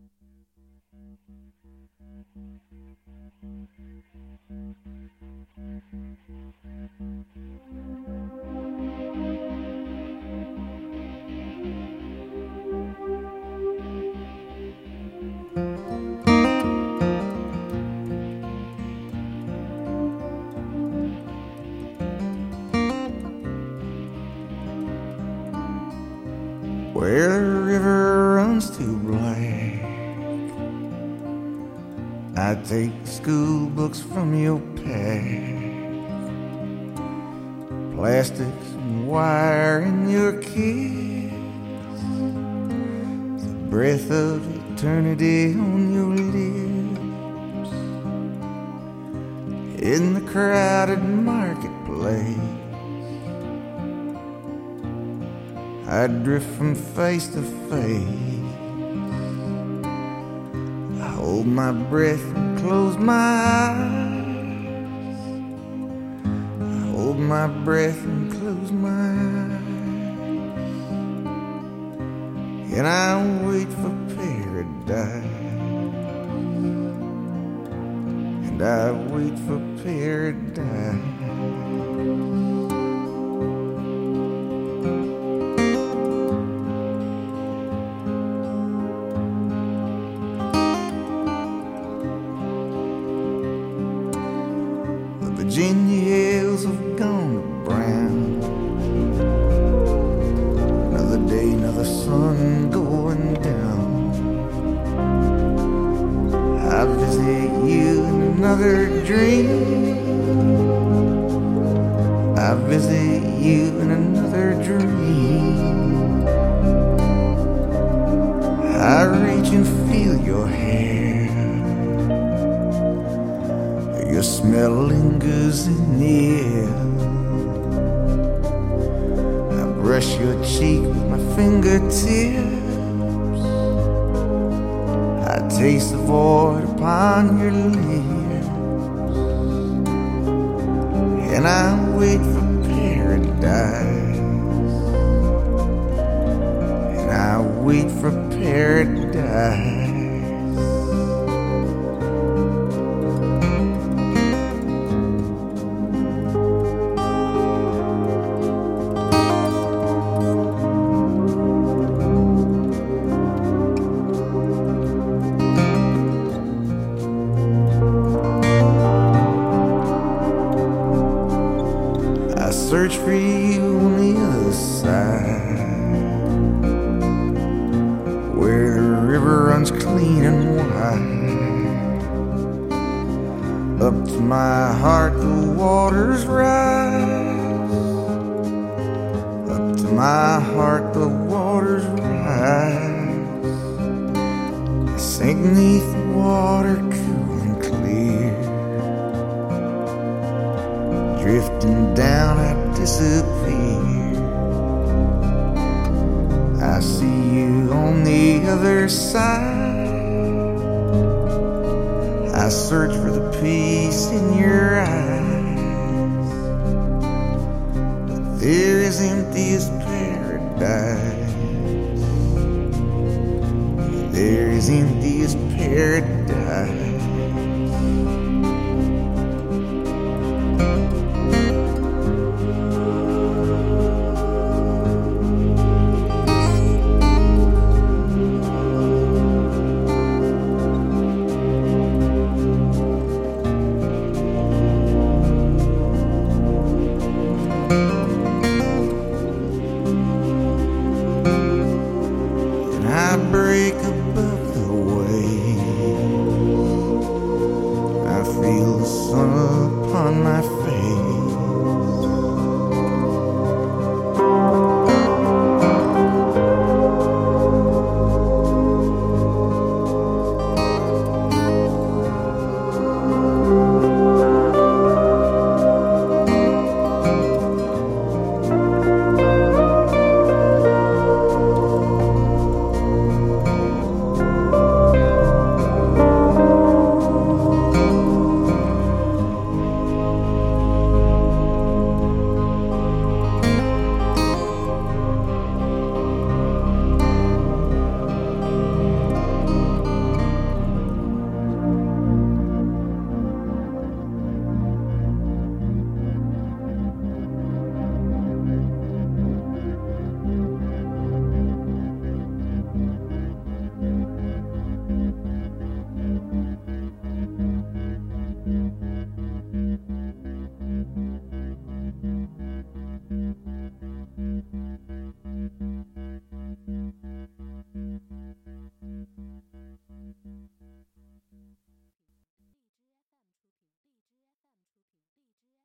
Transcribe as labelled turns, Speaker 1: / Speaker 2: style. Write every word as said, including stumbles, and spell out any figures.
Speaker 1: Where the river runs too black, I take the school books from your pack, plastics and wire in your kiss, the breath of eternity on your lips. In the crowded marketplace, I drift from face to face. I hold my breath and close my eyes. I hold my breath and close my eyes. And I wait for paradise. And I wait for paradise. Virginia hills have gone to brown. Another day, another sun going down. I visit you in another dream. I visit you in another dream. I reach and feel your hair. Your smell lingers in the air. I brush your cheek with my fingertips. I taste the void upon your lips. And I wait for paradise. And I wait for paradise. Search for you on the other side, where the river runs clean and wide. Up to my heart the waters rise. Up to my heart the waters rise. I sink neath the water cool and clear. Drifting down I disappear. I see you on the other side. I search for the peace in your eyes. But there is empty as paradise. There is empty as paradise. I break above the waves. I feel the sun upon my face.